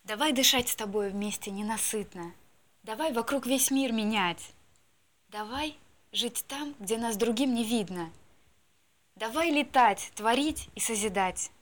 Давай дышать с тобой вместе ненасытно. Давай вокруг весь мир менять. Давай жить там, где нас другим не видно. Давай летать, творить и созидать.